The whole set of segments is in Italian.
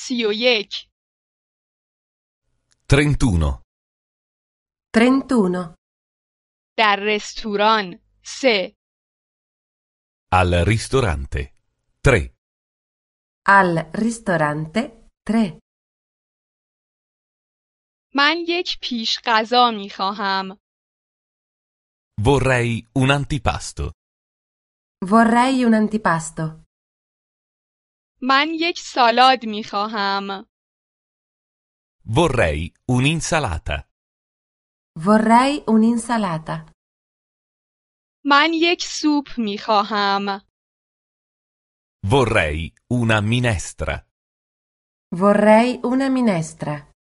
31. 31. 31. در رستوران 3. Al ristorante. 3. Al ristorante 3. من یک پیش غذا می خواهم. Vorrei un antipasto. Vorrei un antipasto. من یک سالاد می خواهم. Vorrei un'insalata. Vorrei un'insalata. من یک سوپ می خواهم. Vorrei una minestra. Vorrei una minestra.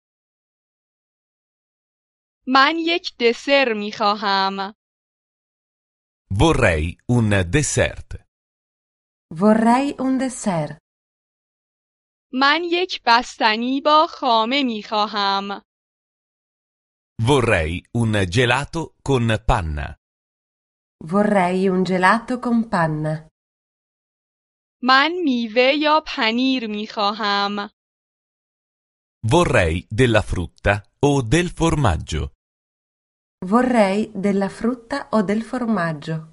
من یک دسر می خواهم. Vorrei un dessert. Vorrei un dessert. من یک بستنی با خامه می خواهم. Vorrei un gelato con panna. Vorrei un gelato con panna. من میوه یا پنیر می خواهم. Vorrei della frutta o del formaggio. Vorrei della frutta o del formaggio.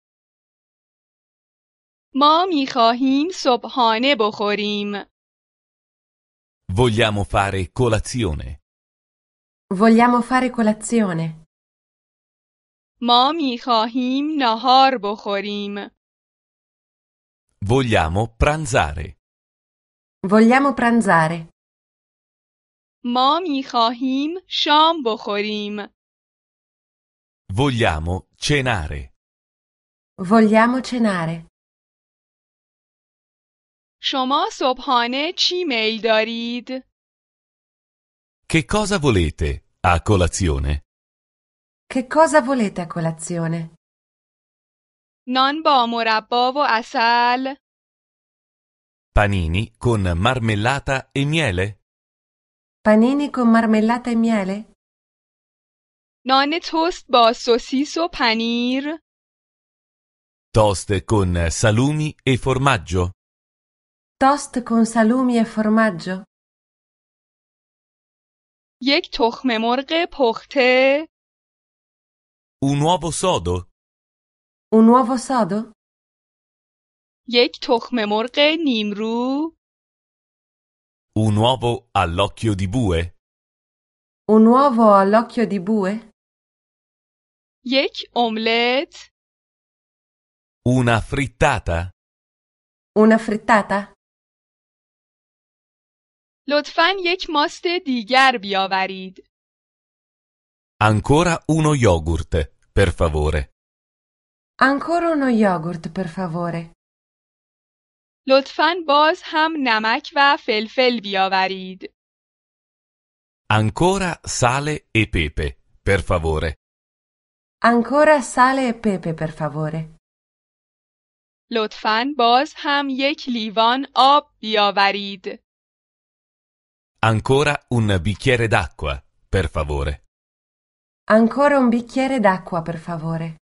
ما می خواهیم صبحانه بخوریم. Vogliamo fare colazione. Vogliamo fare colazione. ما می خواهیم نهار بخوریم. Vogliamo pranzare. Vogliamo pranzare. ما می خواهیم شام بخوریم. Vogliamo cenare. Vogliamo cenare. شما صبحانه چی میل دارید؟ Che cosa volete a colazione? Che cosa volete a colazione? نان با مربا و عسل، Panini con marmellata e miele? Panini con marmellata e miele? نان توست با سوسیس و پنیر، Toast con salumi e formaggio? Toast con salumi e formaggio? یک تخم مرغ پخته، Un uovo sodo? Un uovo sodo? یک تخم مرغ نیمرو، Un uovo all'occhio di bue? Un uovo all'occhio di bue? یک املت، Una frittata? Una frittata? لطفاً یک ماست دیگر بیاورید. Ancora uno yogurt, per favore. Ancora uno yogurt, per favore. لطفاً باز هم نمک و فلفل بیاورید. Ancora sale e pepe, per favore. Ancora sale e pepe, per favore. لطفاً باز هم یک لیوان آب بیاورید. Ancora un bicchiere d'acqua, per favore. Ancora un bicchiere d'acqua, per favore.